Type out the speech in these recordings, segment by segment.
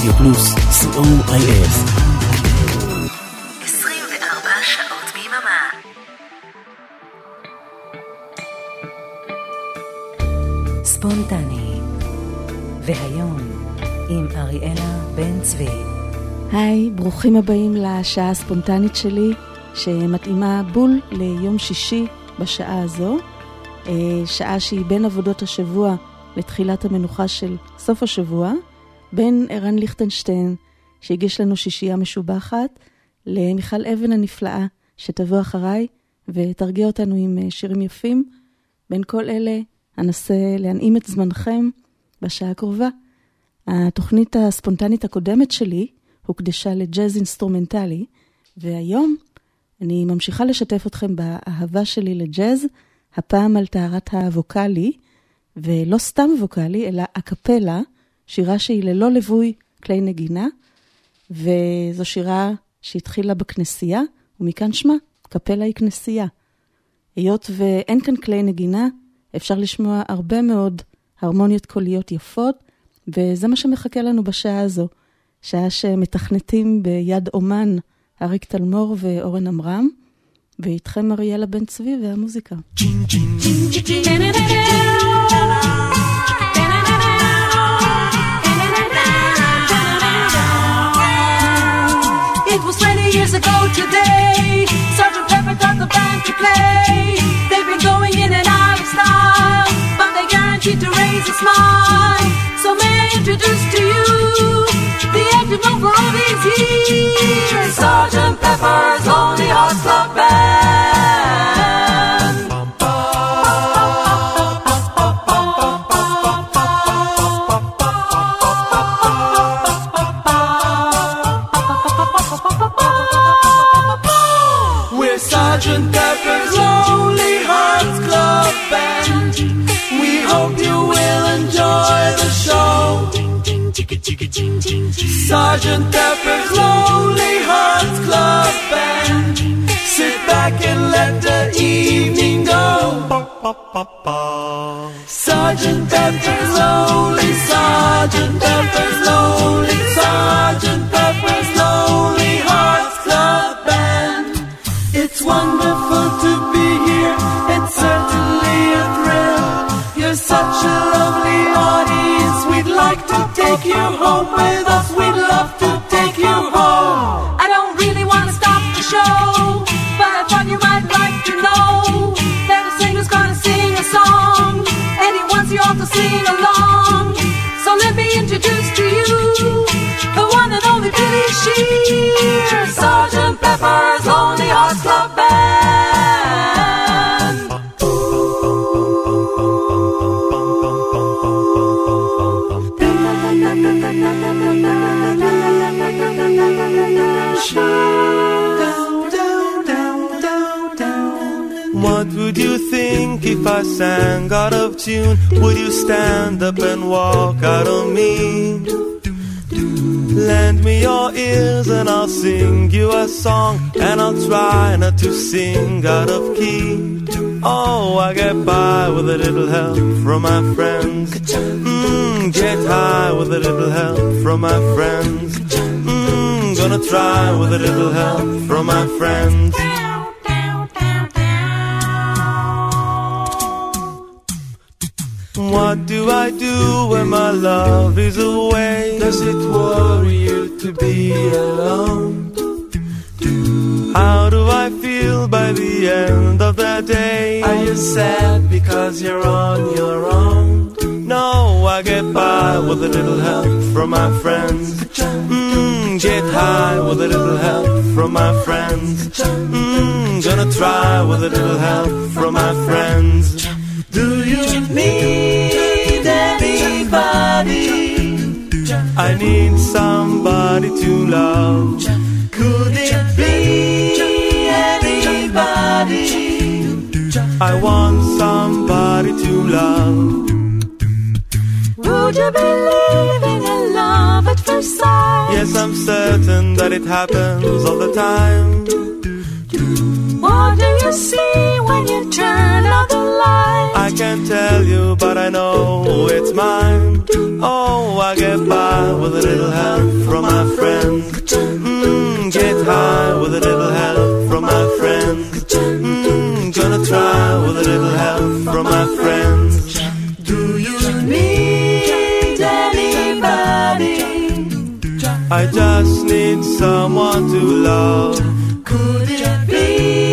רדיו פלוס, COIF. 24 שעות ביממה. ספונטני. והיום עם אריאלה בן צבי. היי, ברוכים הבאים לשעה הספונטנית שלי, שמתאימה בול ליום שישי בשעה הזו, שעה שהיא בין עבודות השבוע לתחילת המנוחה של סוף השבוע, בין ערן ליכטנשטיין שהגיש לנו שישייה משובחת, למיכל אבן הנפלאה שתבוא אחריי ותרגיע אותנו עם שירים יפים. בין כל אלה אנסה להנעים את זמנכם בשעה הקרובה. התוכנית הספונטנית הקודמת שלי הוקדשה לג'אז אינסטרומנטלי, והיום אני ממשיכה לשתף אתכם באהבה שלי לג'אז, הפעם על טהרת הווקלי, ולא סתם ווקלי, אלא אקפלה, שירה שהיא ללא לבוי כלי נגינה, וזו שירה שהתחילה בכנסייה, ומכאן שמה, קפלה היא כנסייה. היות ואין כאן כלי נגינה, אפשר לשמוע הרבה מאוד הרמוניות קוליות יפות, וזה מה שמחכה לנו בשעה הזו, שעה שמתכנתים ביד אומן, אריק תלמור ואורן אמרם, ואיתכם אריאלה בן צבי והמוזיקה. It was 20 years ago today, Sgt. Pepper taught the band to play. They've been going in and out of style, but they guaranteed to raise a smile. So may I introduce to you the active one for all these years, Sgt. Pepper's Lonely Hearts Club Band. We're Sgt. Pepper's Lonely Hearts Club Band. We hope you will enjoy the show. Sgt. Pepper's Lonely Hearts Club Band. Sit back and let the evening go. Sgt. Pepper's Lonely, Sgt. Pepper's Lonely, Sgt. Pepper's Lonely Hearts Club Band. It's wonderful to be here, it's certainly a thrill. You're such a lovely audience, we'd like to take you home with us, we'd love to take you home. I don't really want to stop the show, but I thought you might like to know that a singer's gonna sing a song, and he wants you all to sing along. So let me introduce to you the one and only Billy Shear, Sgt. Pepper's Lonely Hearts Club Band. What would you think if I sang out of tune? Would you stand up and walk out on me? Lend me your ears and I'll sing you a song, and I'll try not to sing out of key. Oh, I get by with a little help from my friends. Get high with a little help from my friends. Gonna try with a little help from my friends. What do I do when my love is away? Does it worry you to be alone? How do I feel by the end of the day? Are you sad because you're on your own? No, I get by with a little help from my friends. Get high with a little help from my friends. Gonna try with a little help from my friends. Do you need anybody? I need somebody to love. Could it be anybody? I want somebody to love. Would you believe in a love at first sight? Yes, I'm certain that it happens all the time. What do you see when you turn out the light? I can't tell you, but I know it's mine. Oh, I get by with a little help little help from my friends. Do you need anybody? I just need someone to love. Could it be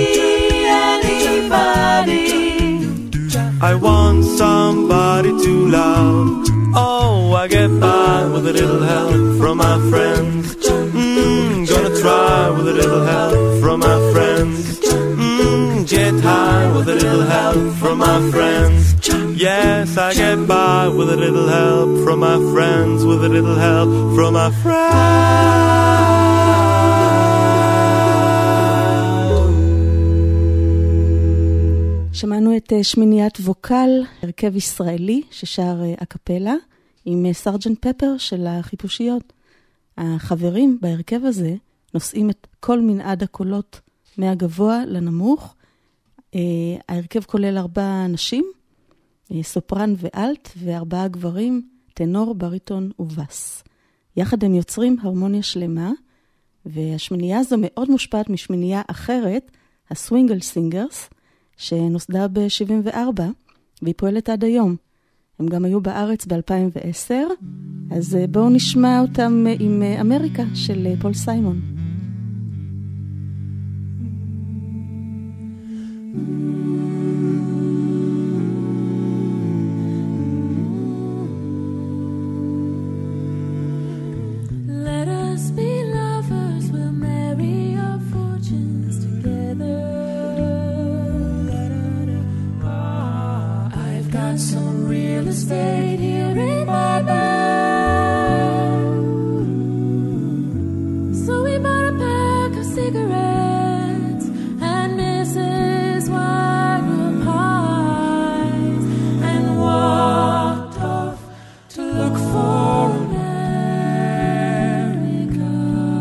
anybody? I want somebody to love. Oh, I get by with a little help from my friends. Gonna try with a little help from my friends. Get high with a little help from my friends. Yes, I get by with a little help from my friends, with a little help from my friends. שמענו את שמיניית ווקל, הרכב ישראלי ששר אקפלה עם סרג'נט פפר של החיפושיות. החברים בהרכב הזה נושאים את כל מנעד הקולות מהגבוה לנמוך. ההרכב כולל 4 נשים, סופרן ואלט, ו4 גברים, טנור, בריטון ובס. יחד הם יוצרים הרמוניה שלמה, והשמינייה הזו מאוד מושפעת משמינייה אחרת, הסווינגל סינגרס, שנוסדה ב-74, והיא פועלת עד היום. הם גם היו בארץ ב-2010, אז בואו נשמע אותם עם אמריקה של פול סיימון. Let us be lovers, we'll marry our fortunes together. I've got some real estate here in my bag, so we bought a pack of cigarettes and Mrs. Wagner pies and walked off to look for America.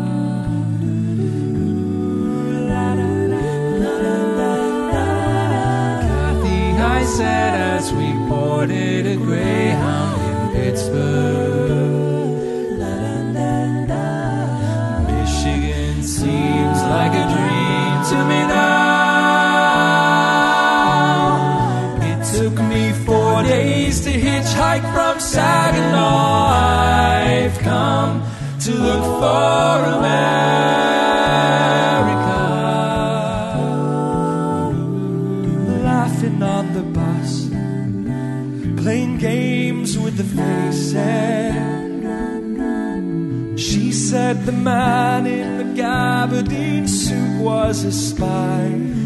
Kathy, I said as we boarded a Greyhound in Pittsburgh, Michigan seems like a dream to me now. It took me 4 days to hitchhike from Saginaw. I've come to look for America. Laughing on the bus, playing games with the faces. She said the man in the gabardine suit was a spy.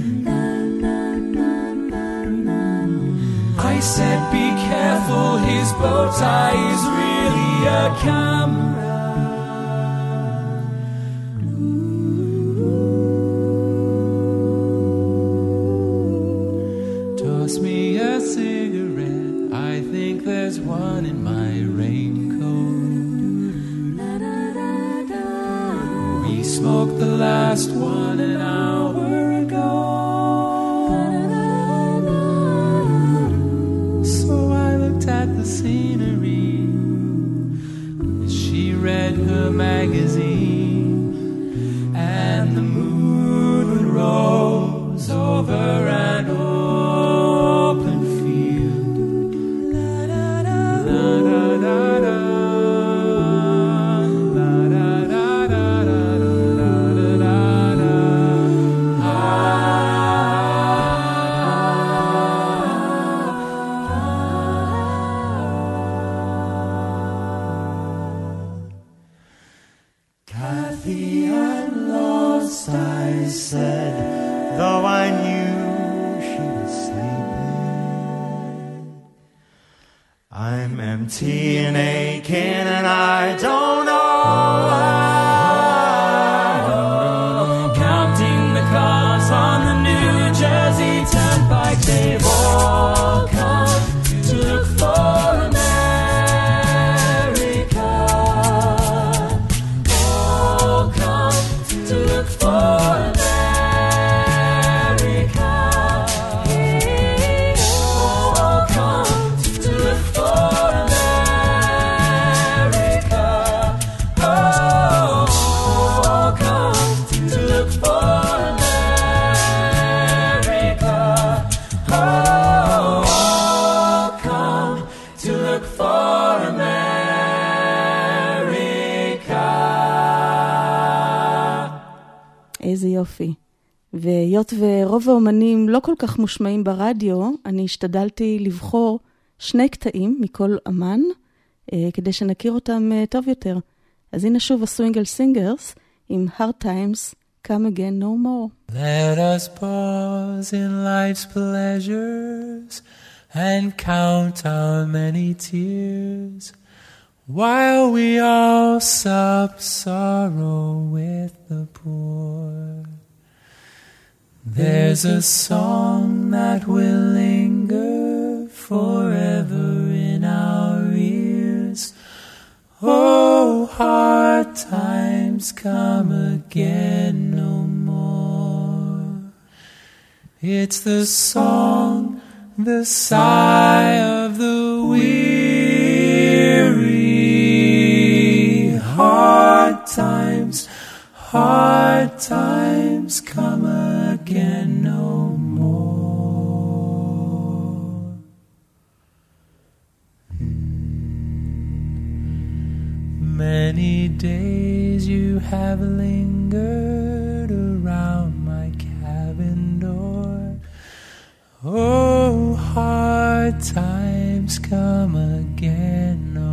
I said be careful, his bow tie is really a camera. Toss me a cigarette, I think there's one in my raincoat. We smoked the last one an hour ago. So I looked at the scenery as she read her magazine, and the moon rose over an open field. La da da da da da, la da da da da da da da. Kathy, I'm lost, I said, though I knew she was sleeping. I'm empty and aching and I don't know why. Counting the cars on the New Jersey Turnpike, they've all come to look for America. All come to look for America. All come to look for America. Oh. איזה יופי. והיות ורוב האומנים לא כל כך מושמעים ברדיו, אני השתדלתי לבחור 2 קטעים מכל אמן, כדי שנכיר אותם טוב יותר. אז הנה שוב הסווינגל סינגרס עם Hard Times Come Again No More. Let us pause in life's pleasures and count our many tears while we all sup sorrow with the poor. There's a song that will linger forever in our ears. Oh, hard times come again no more. It's the song, the sigh of the weary. Hard times come again no more. Many days you have lingered around my cabin door. Oh, hard times come again no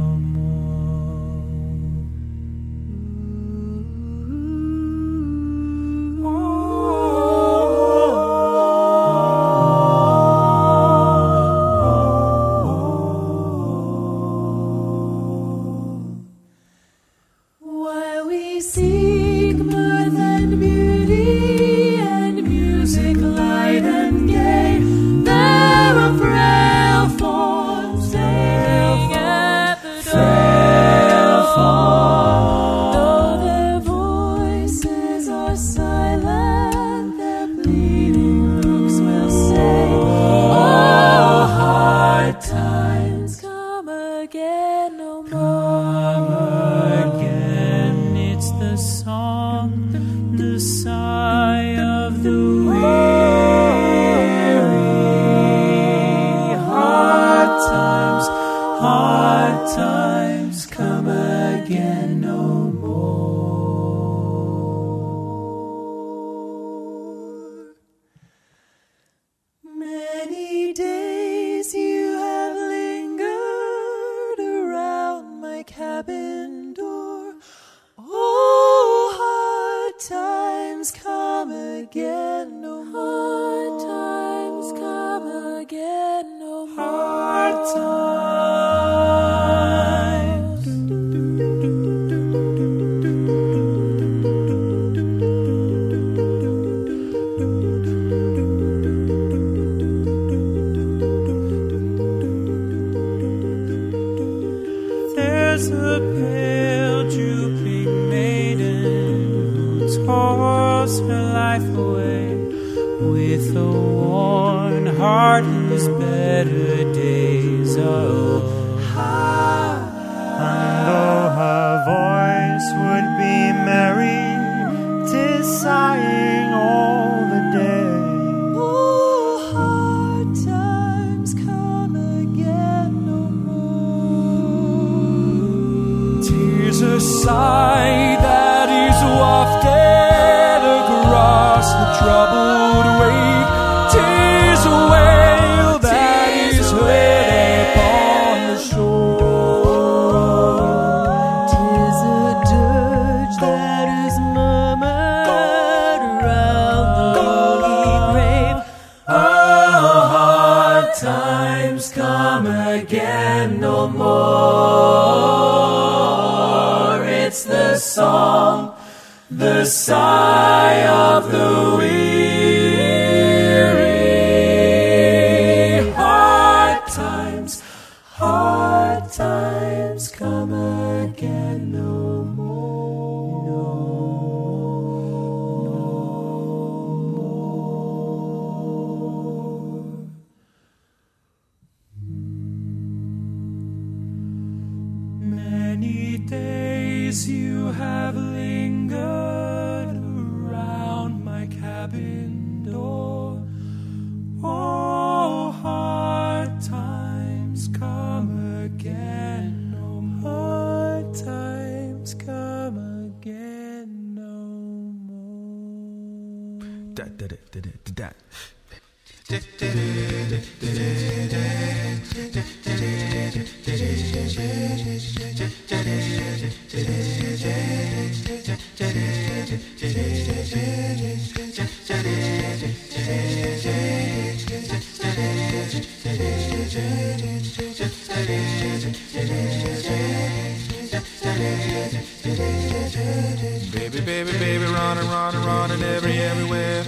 Baby, baby, baby, running, running, running everywhere.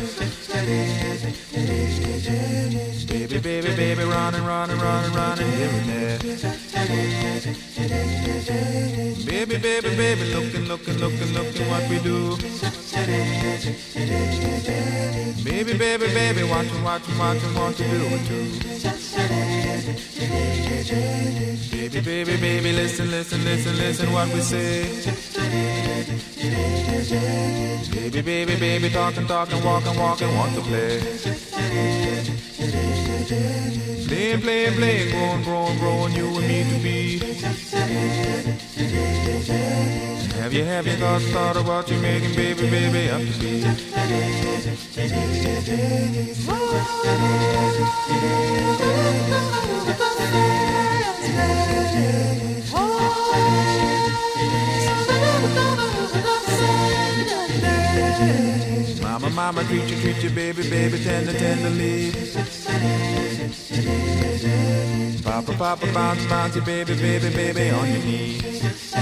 Baby, baby, baby, running, running, running, running here and there. Baby, baby, baby, looking, looking, looking, looking what we do. Baby, baby, baby, watching, watching, watching what you do it too. Baby, baby, baby, listen, listen, listen, listen what we say. Baby, baby, baby, talking, talking, walking, walking, want to play. Playing, playing, playing, growing, growing, growing, you and me to be. Have you thought of what you're making, baby, baby, up to be? Mama, mama, treat you, baby, baby, tender, tenderly. Papa, papa, bounce, bounce you, baby, baby, baby, on your knees.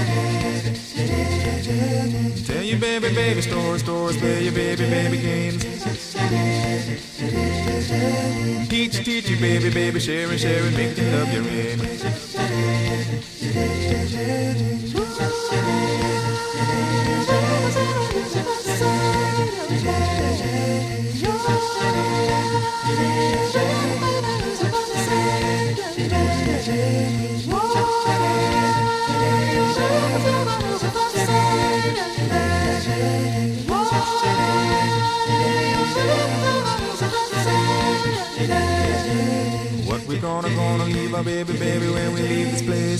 Tell you, baby, baby, stories, stories, play your baby, baby games. Teach you, baby, baby, sharing, sharing, make you love your aim. What we gonna leave our baby, baby, when we leave this place?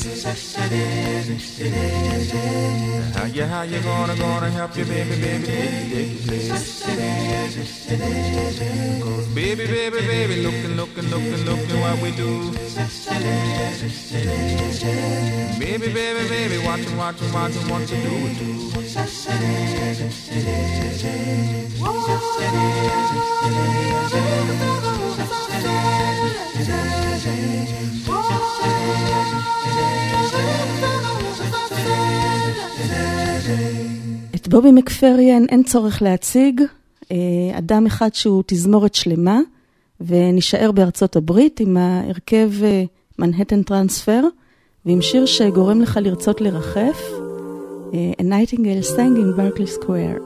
How you gonna help your baby, baby, take your place? Cause baby, baby, baby, looking, looking, looking, looking what we do. Baby, baby, baby, watching, watching, watching what you do it too. את בובי מקפריאן אין צורך להציג, אדם אחד שהוא תזמורת שלמה, ונשאר בארצות הברית עם ההרכב מנהטן טרנספר, ועם שיר שגורם לך לרצות לרחף, A Nightingale Sang in Berkeley Square.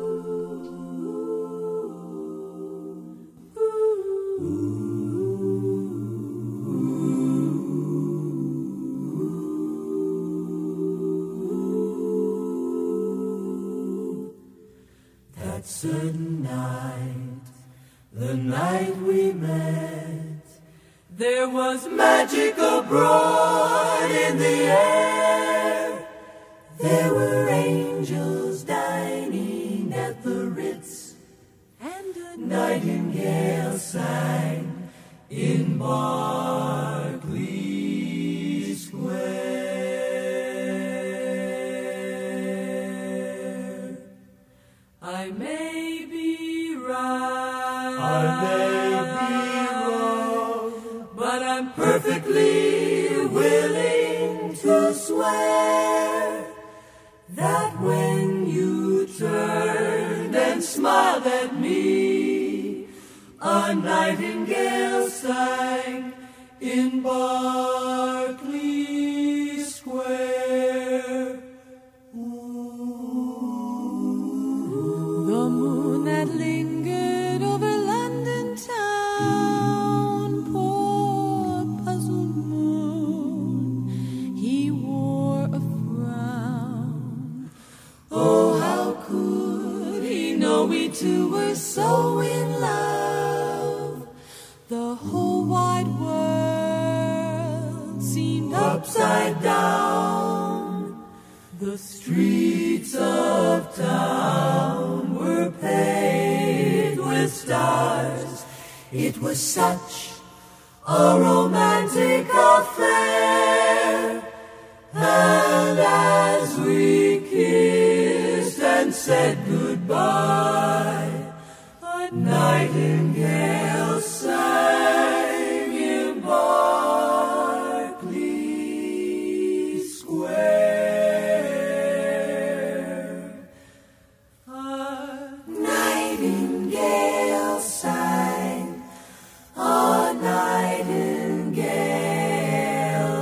That certain night, the night we met, there was magic abroad in the air. There were angels dining at the Ritz, and a nightingale sang in Berkeley Square. I may be right, I may be wrong, but I'm perfectly willing to swear that when you turned and smiled at me, a nightingale sang in Berkeley Square. The moon that lingered over London town, poor puzzled moon, he wore a frown. Oh, how could he know we two were so in love? The whole wide world seemed upside down. The streets of town were paved with stars It was such a romantic affair, and as we kissed and said goodbye, a nightingale sang in Berkeley Square. A nightingale sang, a nightingale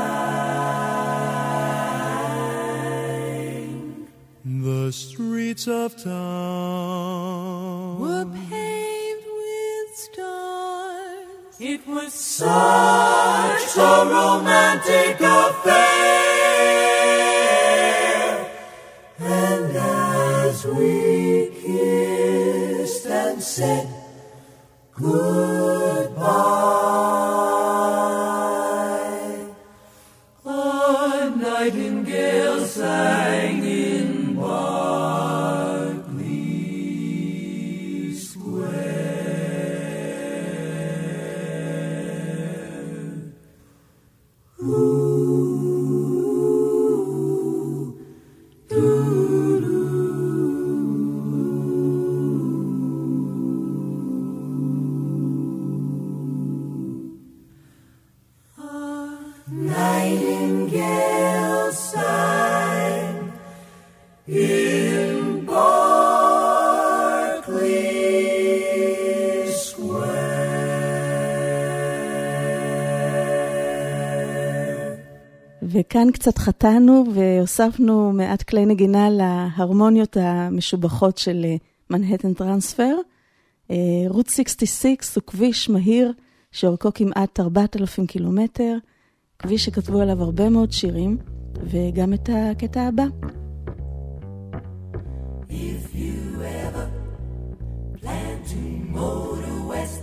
sang. The streets of town Were paved with stars. It was such a romantic affair, and as we kissed and said goodbye, a nightingale sang in Berkeley Square. Ooh, doo-doo. A nightingale sang in Berkeley Square. וכאן קצת חטאנו והוספנו מעט כלי נגינה להרמוניות המשובחות של מנהטן טרנספר. רות 66 הוא כביש מהיר שאורכו כמעט 4,000 קילומטר, כביש שכתבו עליו הרבה מאוד שירים, וגם את הקטע הבא. If you ever plan to motor west,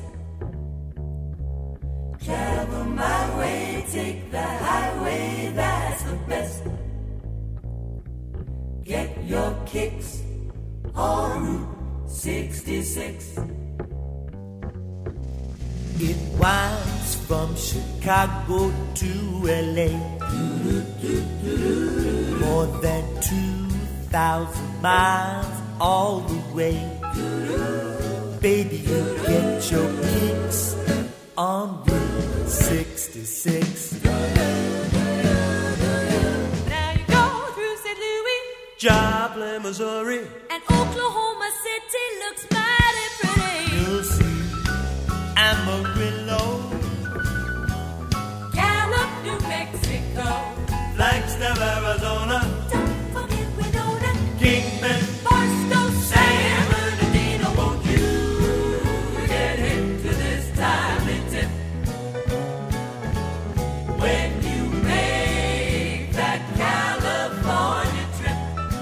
travel my way, take the highway, that's the best. Get your kicks on Route 66. It winds from Chicago to LA, more than 2,000 miles all the way. Baby, you get your kicks on Route 66. Now you go through St. Louis Joplin, Missouri. and Oklahoma City looks mighty pretty. You'll see Amarillo, Gallup, New Mexico. Flagstaff, Arizona. Don't forget Winona, Kingman, Barstow, San Bernardino, won't you get into this timely tip? When you make that California trip,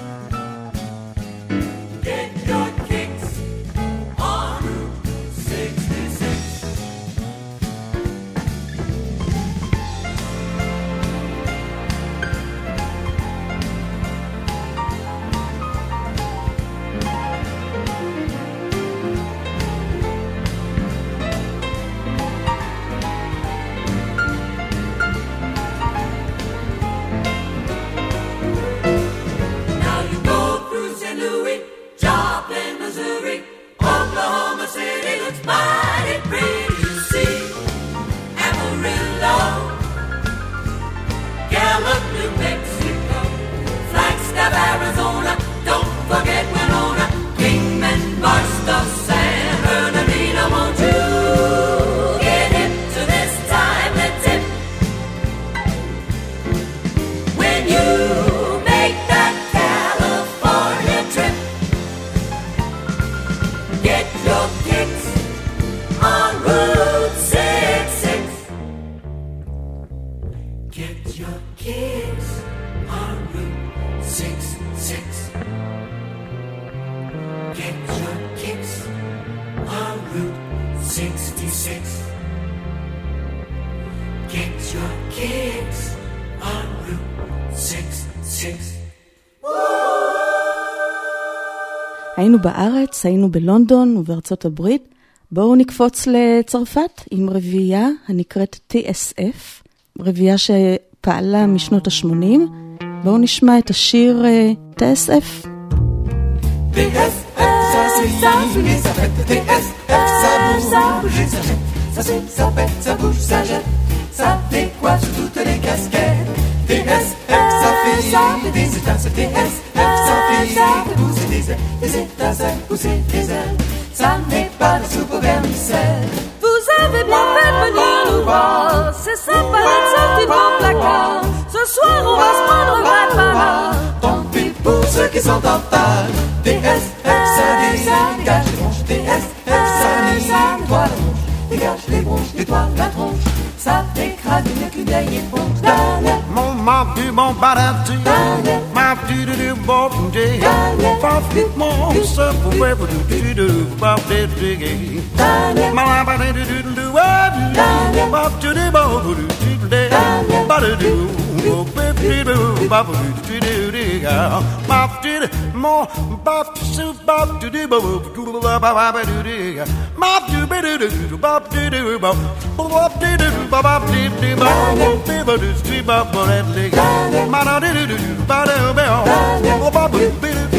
get your kicks on Route 66. Now you go through St. Louis, Joplin, Missouri, Oklahoma City looks mighty pretty. You see Amarillo, Gallup, New Mexico, Flagstaff, Arizona. Don't forget Winona, Kingman, Barstow, San Bernardino. Won't you get hip to this timely tip? When you make that California trip, get your kicks on Route 66. Get your kicks on Route 66. Get your kicks on Route 66. Get your kicks on Route 66. היינו בארץ, היינו בלונדון ובארצות הברית. בואו נקפוץ לצרפת עם רביעייה הנקראת TSF, רביעייה שפעלה משנות ה-80. בואו נשמע את השיר TSF. TSF, ça c'est ça, ça fait TSF, ça bouge, ça jette, ça c'est, ça pète, ça bouge, ça jette, ça décoiffe sur toutes les casquettes. TSF, ça fait des étincelles, TSF, ça fait pousser des ailes, des étincelles, pousser des ailes. Ça n'est pas de soupe au vermicelle. Vous avez bien fait de venir nous voir. C'est sympa d'être sorti de mon placard. Ce soir on va se prendre un vrai panard. Tant pis pour ceux qui sont en retard. TSF, ça dégage les bronches. TSF, ça nettoie la tronche. Dégage les bronches, nettoie la tronche. Ça écrase mieux qu'une vieille éponge. Mon map du bon badatu, map du bon day, pop mon so forever do pop the diggy. My body do pop to the bow do day, but do pop do digga. Pop did more pop soup pop to the bow do pop do digga. Map do better do pop do pop pop do pop do pop do street pop that digga. Man do do ba do bell pop do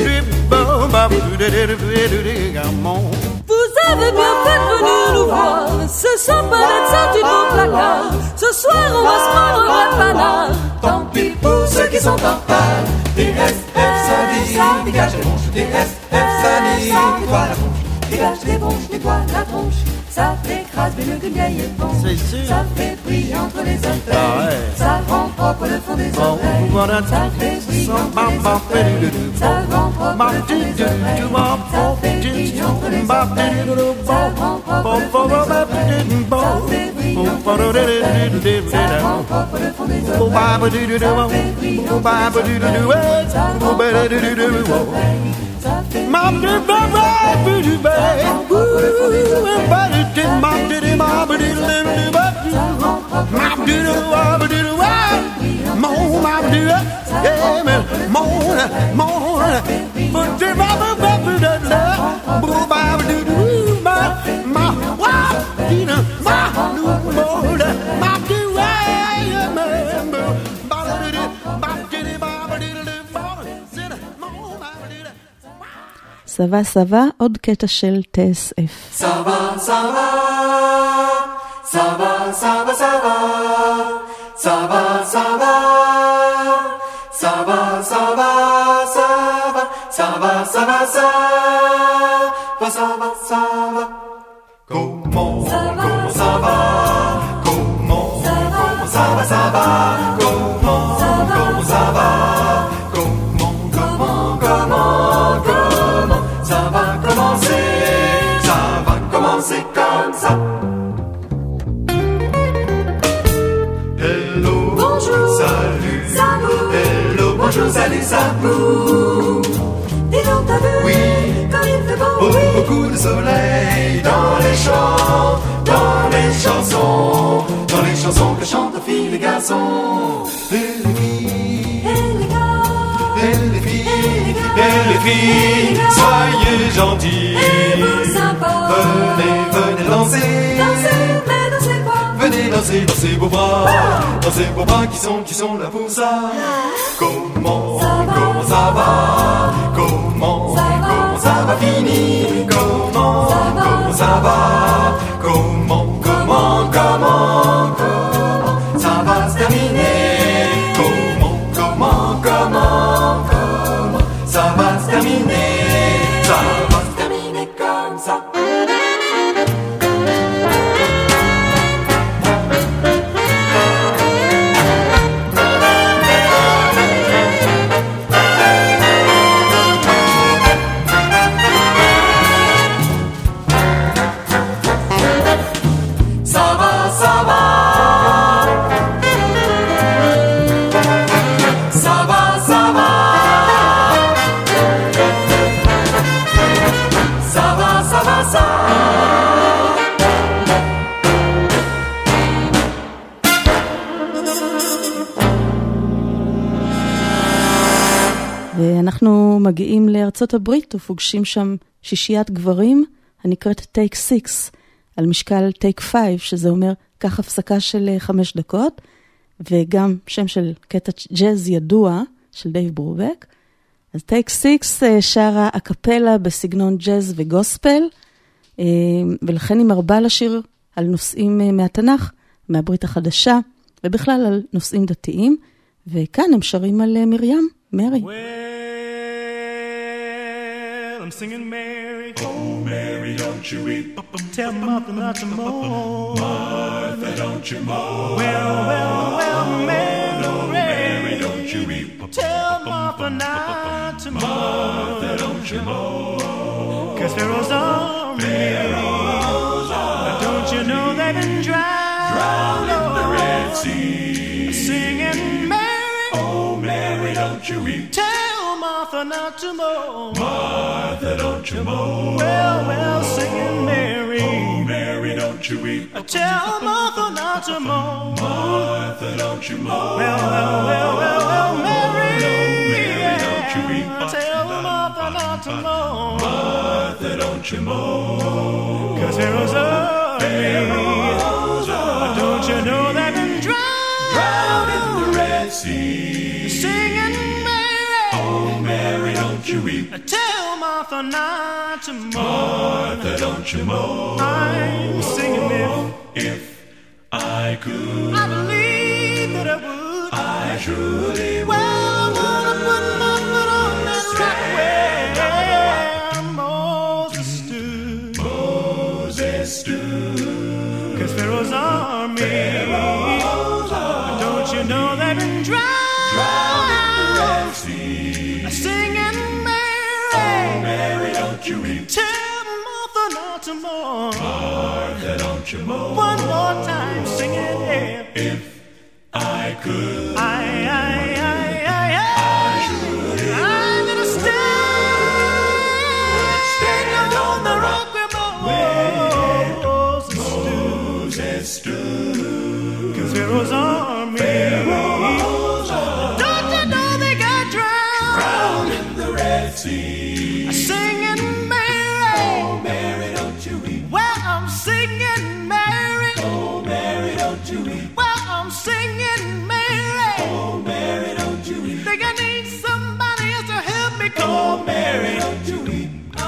Vous avez bien fait de venir nous voir. C'est sympa d'être sorti de mon placard. Ce soir on va se prendre un vrai panard. Tant pis pour ceux qui sont en retard. TSF, ça dégage les bronches. TSF, ça nettoie la tronche. Dégage les bronches, nettoie la tronche. Ça t'écrase mieux qu'une vieille éponge. Ça fait briller entre les orteils. Ça rend propre le fond des oreilles. Ça fait briller entre les orteils. Ça rend propre le fond des oreilles. Ça fait briller entre les orteils. Ça rend propre le fond des oreilles. Ça fait briller entre les orteils. Ça rend propre le fond des oreilles. Ça fait briller entre les orteils. Ça rend propre le fond des oreilles. Ça fait briller entre les oreilles. סבא סבא, עוד קטע של TSF. סבא סבא סבא סבא סבא סבא סבא סבא סבא סבא סבא סבא סבא Comment ça va? Comment ça va? Ça va? Comment ça va? Comment ça va commencer? Ça va commencer comme ça. Hello, bonjour, salut, hello, bonjour, salut, sabou. Dis donc t'as vu? Oui, quand il fait beau, oui. Beaucoup de soleil dans les champs, dans les chansons que chantent les filles, les garçons, et les filles, et les gars, et les filles, et les filles, soyez gentils, et vous sympas, venez danser, mais dansez quoi? Venez danser, dansez vos bras, dansez vos bras qui sont là pour ça. Comment ça va? Comment ça va finir? Comment ça va? Comment ça va se terminer? Comment ça va se terminer? Ça va se terminer comme ça. ואנחנו מגיעים לארצות הברית ופוגשים שם שישיית גברים הנקראת Take 6. על משקל טייק 5, שזה אומר כך הפסקה של 5 דקות, וגם שם של קטע ג'אז ידוע של דייב ברובק. אז טייק 6 שרה אקפלה בסגנון ג'אז וגוספל, ולכן היא מרבה לשיר על נושאים מהתנ"ך, מהברית החדשה, ובכלל על נושאים דתיים, וכאן הם שרים על מרים, מרי. Well, I'm singing Mary. Oh, Mary, don't you weep. Tell Martha not to mourn. Martha, don't you mourn. Well, Mary. Oh, Mary, don't you weep. Tell Martha not to mourn. Martha, don't you mourn. 'Cause Pharaoh's army. Don't you know they've been drowned in the Red Sea? Singing Mary. Oh, Mary, don't you weep. Tell Martha not to mourn. Martha, don't you mourn. Well, singing Mary. Oh, Mary, don't you weep. Tell Martha not to mourn. Martha, don't you mourn. Well, Mary. Mary, don't you weep. Tell Martha not to mourn. Martha, don't you mourn. 'Cause Pharaoh's army. Don't you know they've been drowned in the Red Sea? Singing Mary. Oh, Mary, don't you weep. Tell Martha not to mourn. Martha, don't you mourn. I'm singing if I could. I believe that I would. I truly would. Well, I wanna put my foot on that rock where Moses stood. 'Cause Pharaoh's army. Don't you know they've been drowned in the Red Sea? Singing Mary. Oh, Mary, don't you weep. Tell Martha not to mourn. Martha, don't you mourn. One more time, sing it if I could. I should. I'm gonna stand on the rock where Moses stood. 'Cause Pharaoh's army. Don't you know they got drowned in the Red Sea? Singing Mary. Oh, Mary, don't you weep. Well, I'm singing Mary. Oh, Mary, don't you weep. Well, I'm singing Mary. Oh, Mary, don't you weep. Think I need somebody else to help me. Oh, Mary, don't you weep.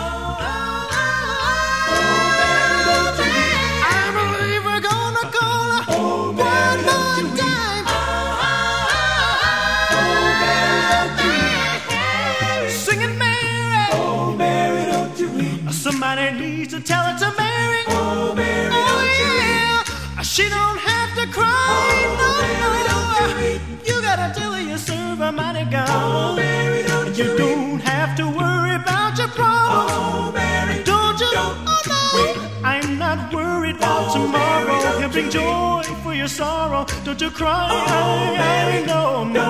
Somebody needs to tell it to Mary. Oh, Mary, don't you weep. She don't have to cry. Oh, Mary, don't you weep. You gotta tell her you serve a mighty God. Oh, Mary, don't you don't have to worry about your problems. Oh, Mary, don't you? Weep. I'm not worried about tomorrow. He'll bring joy for your sorrow. Don't you cry. Oh, Mary, no.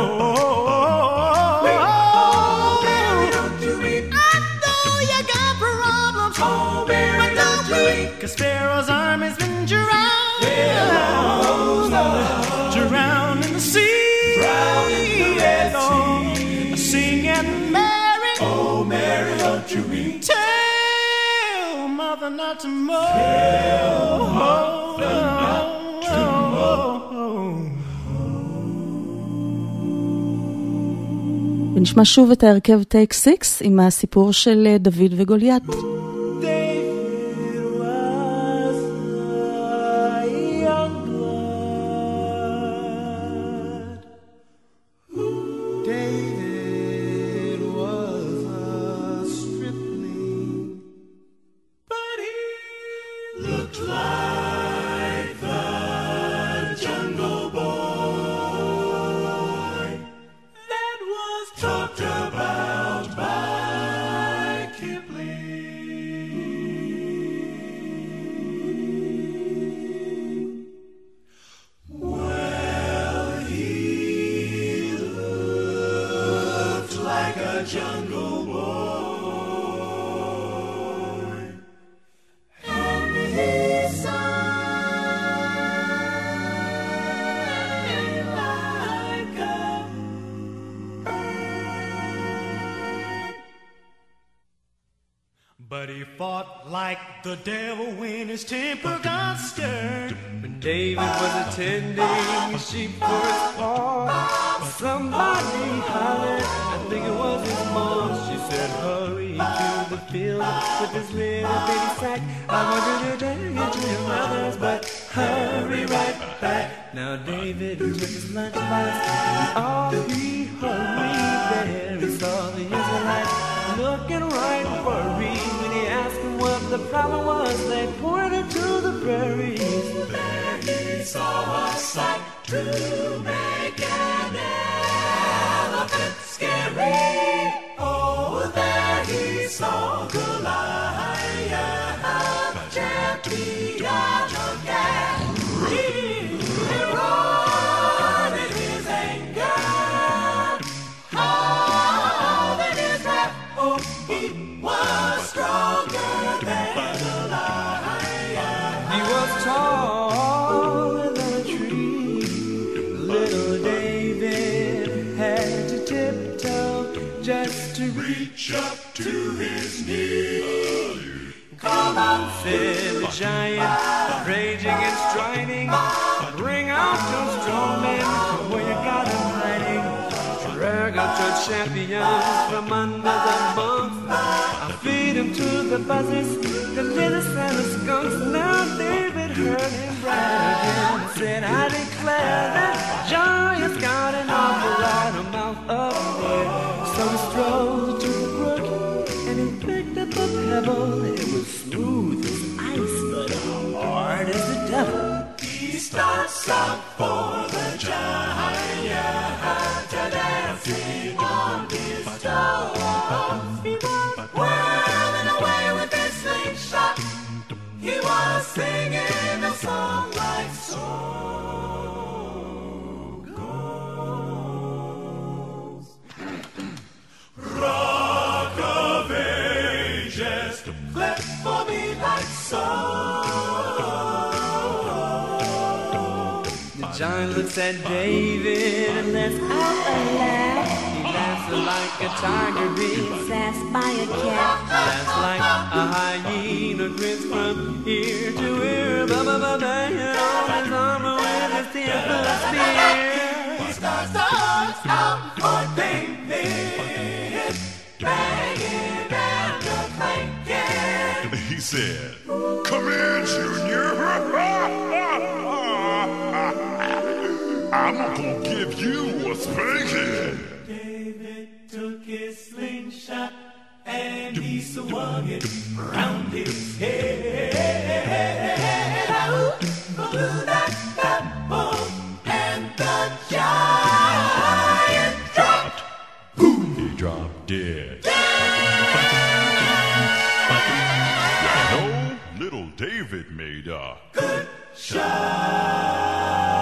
Cause Pharaoh's army's been drowned in the sea. Drowned in the Red Sea. Singing Mary. Oh, Mary, don't you weep. Tell Mother not to mourn. Tell Mother not to mourn. ונשמע שוב את ההרכב טייק 6 עם הסיפור של דוד וגוליית. But he fought like the devil when his temper got stirred. When David was attending sheep for his farm, somebody hollered, I think it was his mom. She said, hurry to the field with this little bitty sack. I want you to take it to your brothers, but hurry right back. Now David took his lunchbox, and off he hurried there. He saw the Israelites looking right worried. When he asked them what the problem was, they pointed to the prairies. There he saw a sight to make an elephant scary. Oh, there he saw Goliath, champion of Gath. He roared in his anger, howled in his wrath. Oh, he was stronger than Goliath. He was taller than a tree. Little David had to tiptoe just to reach up to his knee. Come on, said the giant, raging and striding. Bring out your strong men from where you got them hiding. Drag out your champions from under the bunks. I'll feed them to the buzzards, the lizards and the skunks. Now David heard him brag again and said, I declare that giant's got an awful lot of mouth up there. So he strolled to the brook and he picked up a pebble. It was smooth as ice, but hard as the devil. He starts out for the giant, dancing on his toes. Whirling away with his slingshot, he was singing a song like so goes. Rock of Ages, flip for me like so. The giant looks at David and lets out a laugh. He laughs like a tiger being sassed by a cat. Laughs like a hyena, grins from ear to ear. Banging on his armor with his temple spear. He starts out for David, banging and a clanking. He said, come here, Junior. I'm gonna give you a spanking. David took his slingshot and he swung it round his head. Out blew that pebble and the giant dropped. Boom! He dropped dead. No, little David made a good shot.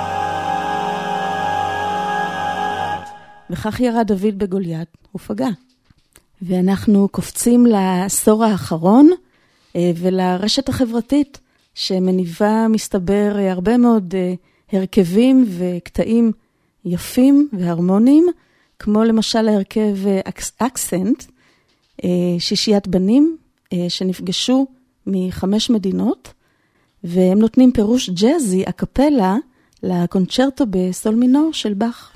וכך ירד דוד בגוליית ופגע. ואנחנו קופצים לעשור האחרון ולרשת החברתית שמניבה מסתבר הרבה מאוד הרכבים וקטעים יפים והרמוניים, כמו למשל ההרכב אקסנט, שישיית בנים שנפגשו מ5 מדינות, והם נותנים פירוש ג'אזי, הקפלה, לקונצ'רטו בסול מינור של באך.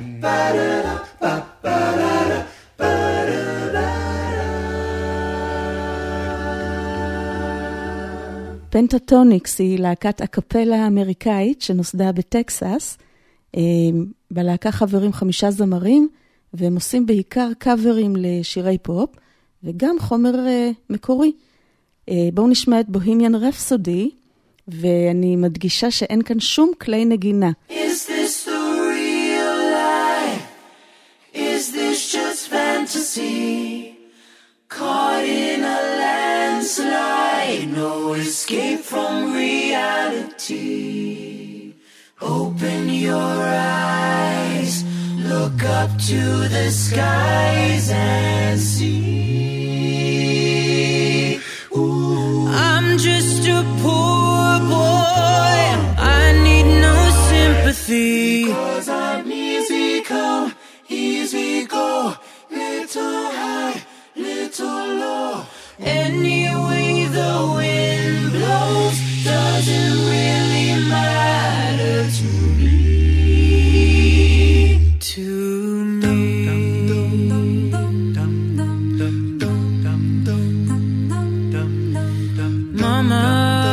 פנטטוניקס היא להקת הקפלה האמריקאית שנוסדה בטקסס. בלהקה חברים 5 זמרים, והם עושים בעיקר קאברים לשירי פופ, וגם חומר מקורי. בואו נשמע את בוהמיאן רפסודי, ואני מדגישה שאין כאן שום כלי נגינה. Is this the real life? Is this just fantasy? Caught in a landslide, no escape from reality. Open your eyes, look up to the skies and see. Ooh. I'm just a poor boy, I need no sympathy. 'Cause I'm easy come, easy go, little high, little low. Any way the wind blows doesn't really matter to me. To me. Mama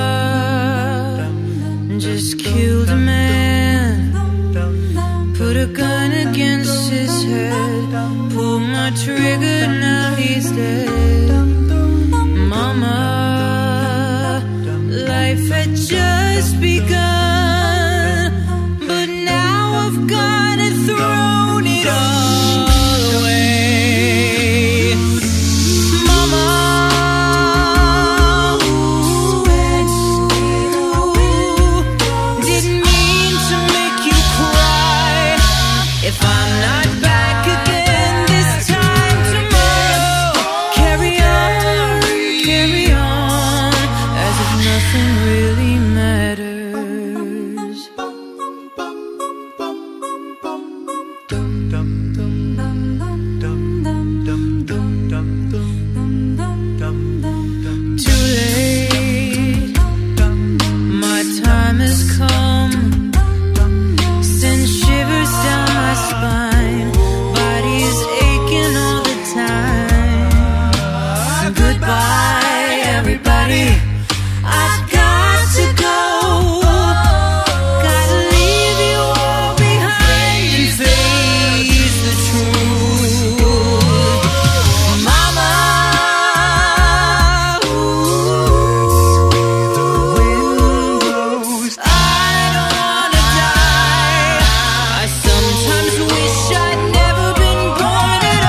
just killed a man, put a gun against his head, pulled my trigger, now he's dead. Mama, life had just begun, but now I've got it, thrown it all away. Mama, didn't mean to make you cry. If I'm not back again this time tomorrow, carry on, as if nothing really matters. Too late, my time has come, send shivers down my spine, body is aching all the time. Goodbye everybody, I've got to go, gotta leave you all behind and face the truth. Mama, I don't wanna die. I sometimes wish I'd never been born at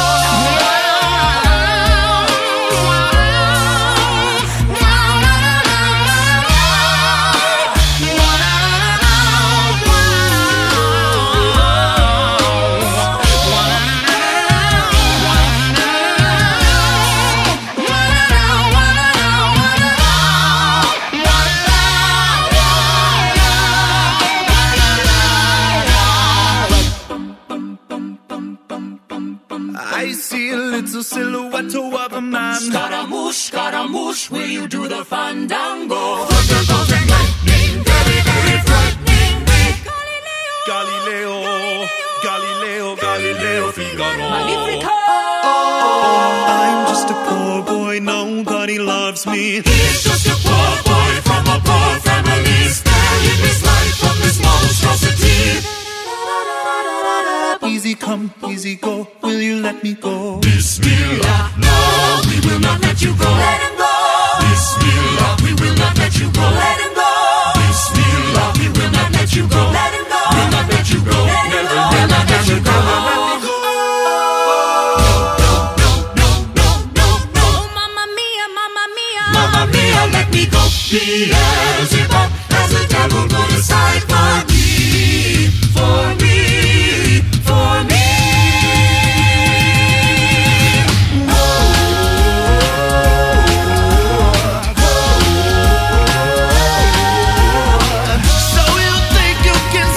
I see a little silhouette of a man. Scaramouche, will you do the fandango? Thunderbolt and lightning, very, very frightening me. Galileo, Galileo, Galileo Figaro. Magnifico! I'm just a poor boy, nobody loves me. He's just a poor boy from a poor family, sparing his life from this monstrosity. Easy come, easy go, will you let me go? Bismillah, no, we will not let you go. Let him go. Bismillah, we will not let you go. Let him go. Bismillah, we will not let you go. Let him go. We'll not let you go. Never, will not let you go. No, mamma mia, mamma mia. Mamma mia, let me go. Beelzebub has the devil put aside for me, for me, for me. So you think you can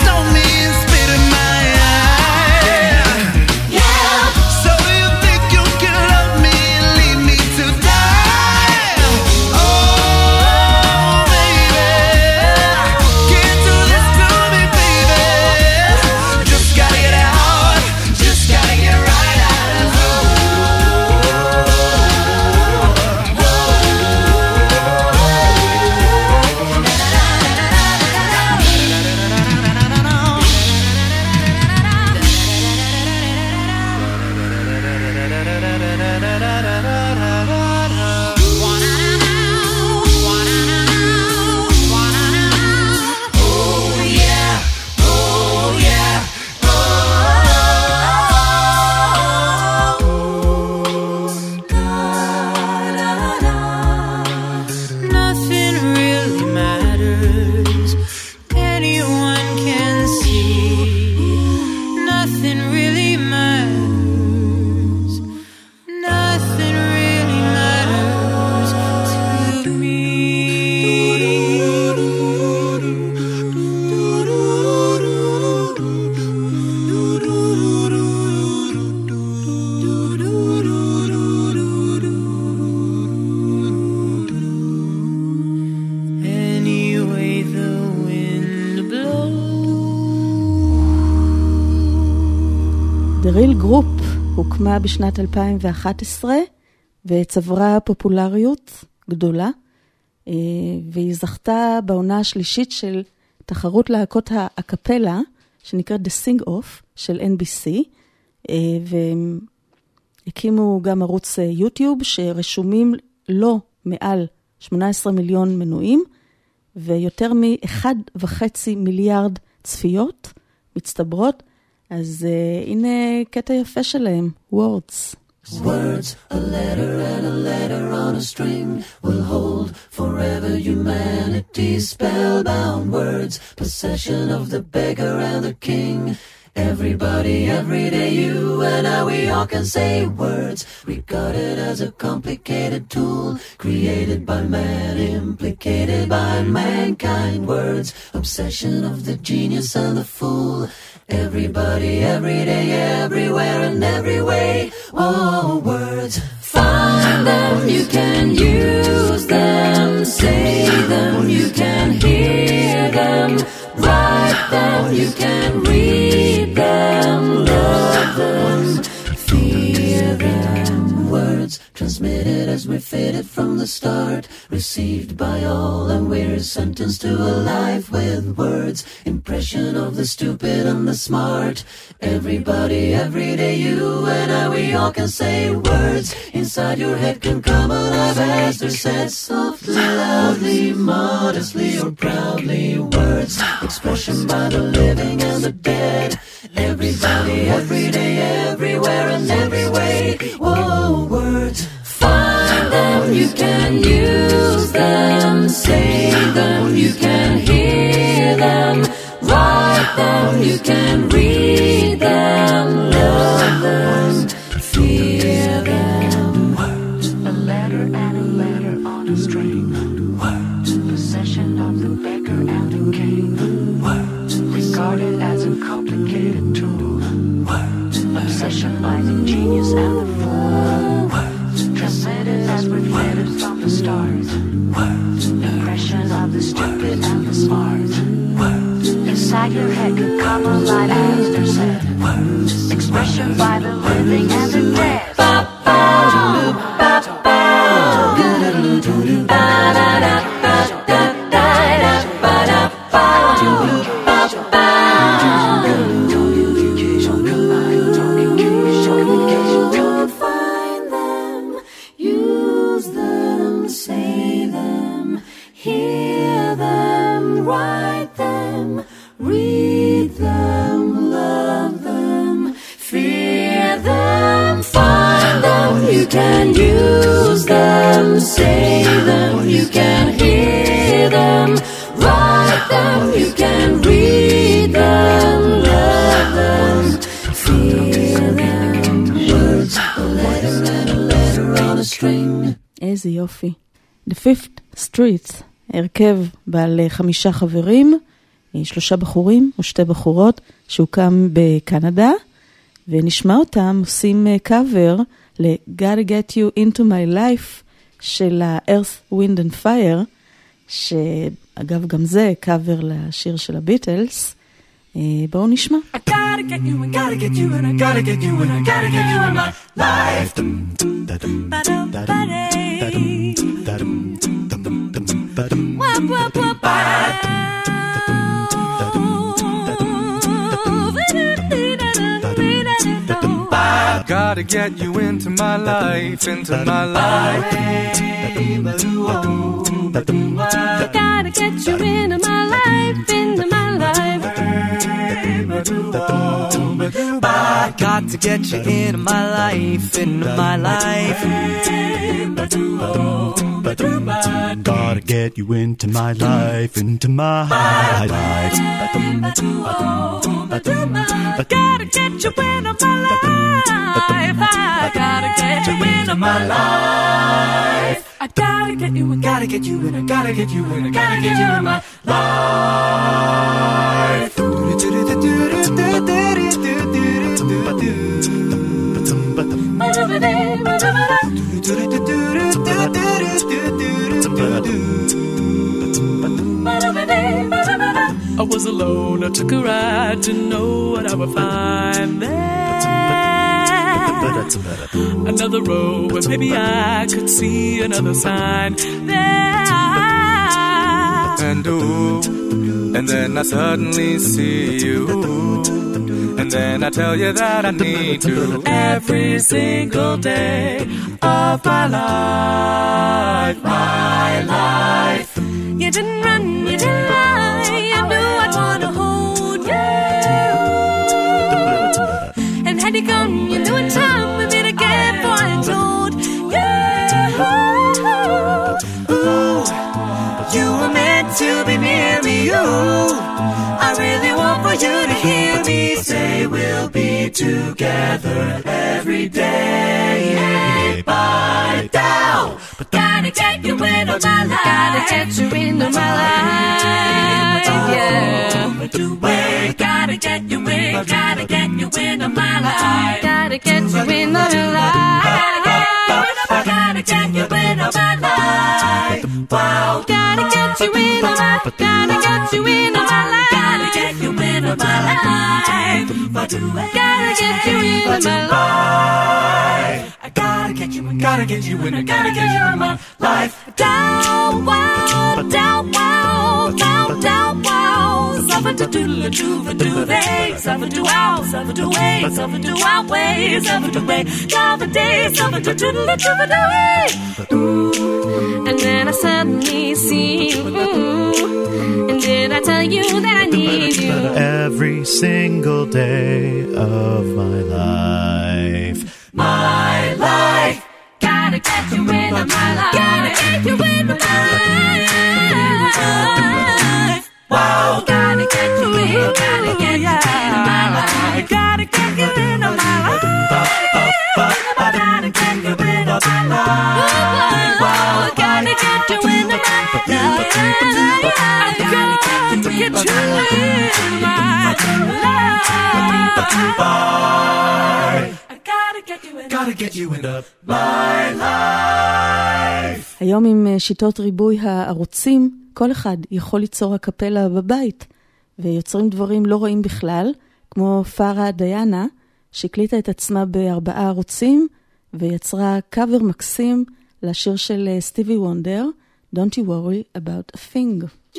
The Real Group הוקמה בשנת 2011 וצברה פופולריות גדולה, והיא זכתה בעונה השלישית של תחרות להקות הקפלה שנקראת The Sing Off של NBC, והם הקימו גם ערוץ יוטיוב שרשומים לו מעל 18 מיליון מנויים ויותר מ1.5 מיליארד צפיות מצטברות. אז הנה קטע יפה שלהם, Words. Words, a letter and a letter on a string will hold forever humanity's spellbound words, possession of the beggar and the king. Everybody, every day, you and I, we all can say words, regarded as a complicated tool, created by man, implicated by mankind. Words, obsession of the genius and the fool. Everybody, every day, everywhere and every way. Oh, words, find them, you can use them, say them, you can hear them, write them, you can read them, love them, fear them. Words transmitted as we're fitted from the start, received by all and we're sentenced to a life with words, impression of the stupid and the smart. Everybody, every day, you and I, we all can say words. Inside your head can come alive as they're said softly, loudly, modestly or proudly. Words, expression by the living and the dead. Everybody, every day, everywhere and every way. Whoa, words, find them, you can use them, say them, you can hear them, write them, you can read them, love them, fear them. Words, a letter and a letter on a string. Words, possession of the beggar and the king. Words, regarded as a complicated tool. Words, obsession by the genius and the fool. Words, transmitted as we're fitted from the stars. Words, impression of the stupid and the smart. Words, inside your head can come alive as they're said. Words, expression by the living and the dead. Find them, use them, say them, hear them, write them, read them, love them, fear them, find them, you can use them, say them, you can hear them, write them, you can read them, love them, fear them. Words, a letter and a letter on a string. איזה יופי. The Fifth Street, הרכב בעל 5 חברים, 3 בחורים ו2 בחורות, שהוקם בקנדה, ונשמע אותם עושים קאבר ל-Gotta Get You Into My Life של ה-Earth, Wind and Fire, שאגב גם זה קאבר לשיר של הביטלס. בואו נשמע. I gotta get you and gotta get you and I gotta get you and I gotta get you in my life. Gotta get you into my life, into my life. Gotta get you into my life, into my life. Got to get you into my life, into my life. Gotta get you into my life, into my life. Gotta get you into my life. I gotta get you into my life. I gotta get you and gotta get you and I gotta get you and I gotta get you in my life. I was alone, I took a ride to know what I would find there. another road where maybe I could see another sign there. And ooh, and then I suddenly see you, and then I tell you that I need to. Every single day of my life, my life. You didn't run, you didn't lie. You knew I'd wanna hold you. And had you gone, you knew in time we'd meet again. For I told you, ooh, you were meant to be near me. Ooh, I really want for you to hear me say we'll be together every day. Bye down, but gotta get you into my life. Gotta get you into my life. Yeah. Gotta get you in. Gotta get you into my life. Gotta get you into my life. Gotta get you into my life. Wow. Gotta get you into my. Gotta get you into my life. Gotta get you into my life. Gotta get you into my life. I gotta get you in, gotta get you in, I gotta get you in my life. Down, wow, down, wow, down, down, wow. Suffer to doodle do for do they, suffer to wow, suffer to way, suffer to wow way, suffer to way, down the day, suffer to doodle do for do way. Ooh, and then I suddenly see you, and then I tell you that I need you. Every single day of my life. My life. Gotta get you into my life. Gotta get you into my life. Wow. Gotta get you in. Gotta get you into my life. Gotta get you into my life. Gotta get you into my life. Wow. Gotta get you into my life. Gotta get you into my life. Gotta get you into my life. היום עם שיטות ריבוי הערוצים, כל אחד יכול ליצור הקפלה בבית, ויוצרים דברים לא רואים בכלל, כמו פארה דיאנה, שהקליטה את עצמה ב4 ערוצים, ויצרה קאבר מקסים לשיר של סטיבי וונדר, Don't you worry about a thing.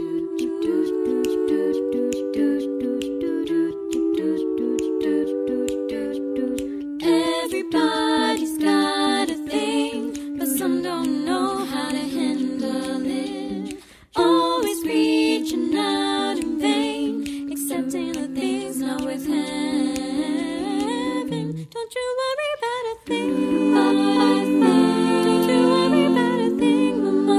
Everybody's got a thing, but some don't know how to handle it. Always reaching out in vain, accepting the things not worth having. Don't you worry about a thing. Don't you worry about a thing, mama.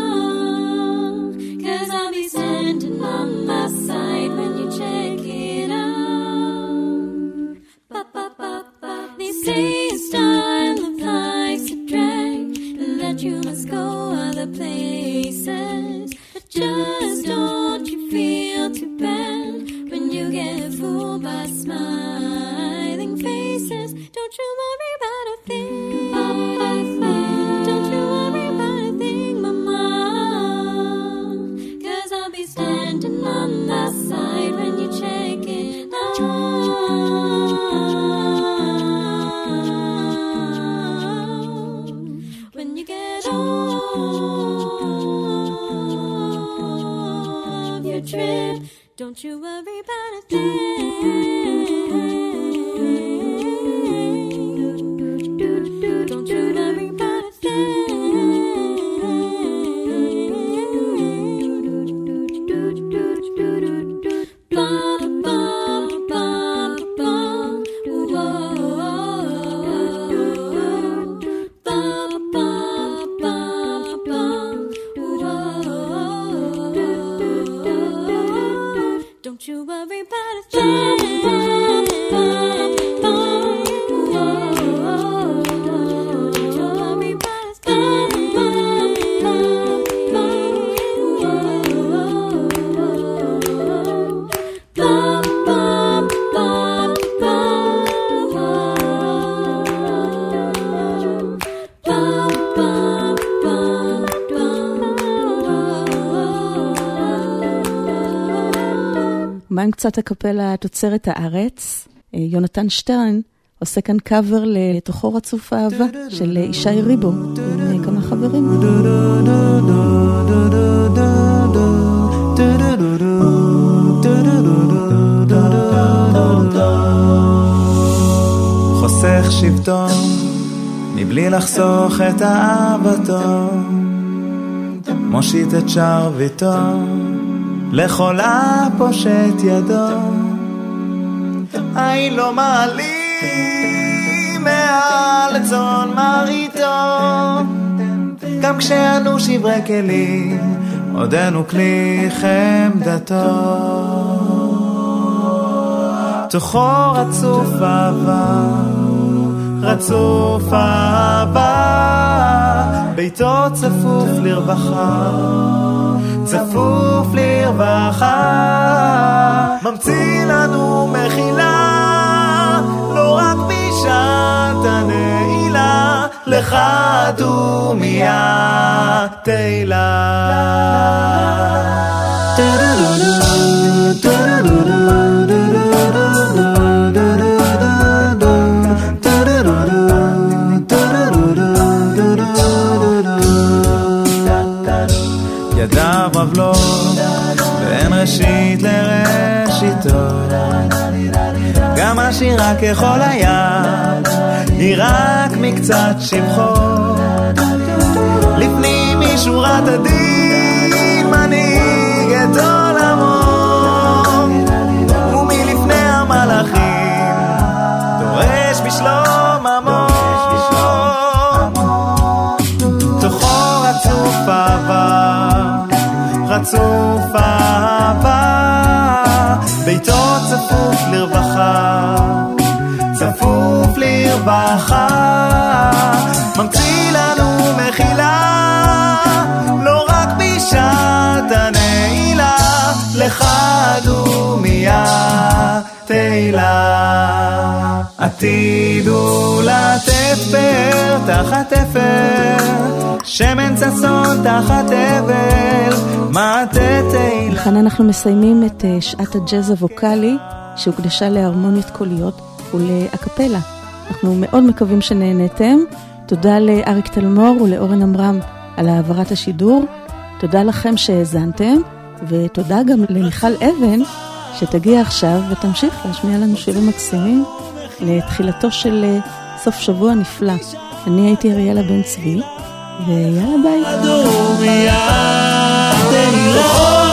'Cause I'll be standing on my side when you check it out. Ba ba ba ba. They say your style of life's a drag, and that you must go other places. But just don't you feel too bad when you get fooled by smiling faces. Don't you worry about a thing. Don't you worry about a thing, mama. 'Cause I'll be standing on that side when you check it out. When you get off your trip, don't you worry about a thing. Don't you worry about a Don't you worry about a thing. מה עם קצת הקפלה תוצרת הארץ? יונתן שטרן עושה כאן קאבר לתוכו רצוף האהבה של ישי ריבו עם כמה חברים. חוסך שבטו מבלי לחסוך את אהבתו, מושיט את שרביטו לכל הפושט ידו. אין לו מעלים מעל צאן מרעיתו, גם כשאנו שברי כלים עודנו כלי חמדתו. תוכו רצוף אהבה, רצוף אהבה, ביתו צפוף לרווחה, צפוף לרווחה. ממציא לנו מחילה, לא רק בשעת הנעילה, לך דומיה תהילה. ידיו רבלות ואין ראשית לראשיתו, גם השירה ככל היד היא רק מקצת שבחו. לפנים משורת הדין מנהיג את עולמו, ומלפני המלאכים דורש בשלום עמו. תוכו רצוף אהבה, רצוף אהבה, ביתו צפוף לרווחה, צפוף לרווחה. ממציא לנו מחילה, לא רק בשעת הנעילה, לך דומיה תהילה. עתידו לתפר תחת תפר, שמן צסון תחת אבל, מעטה תהילה. לכאן אנחנו מסיימים את שעת הג'אז הווקלי שהוקדשה להרמוניות קוליות ולאקפלה. אנחנו מאוד מקווים שנהנתם. תודה לאריק תלמור ולאורן אמרם על העברת השידור. תודה לכם שהאזנתם, ותודה גם למיכל אבן שתגיע עכשיו ותמשיך להשמיע לנו שירים מקסימים לתחילתו של סוף שבוע נפלא. אני הייתי אריאלה בן צבי, ויאללה ביי.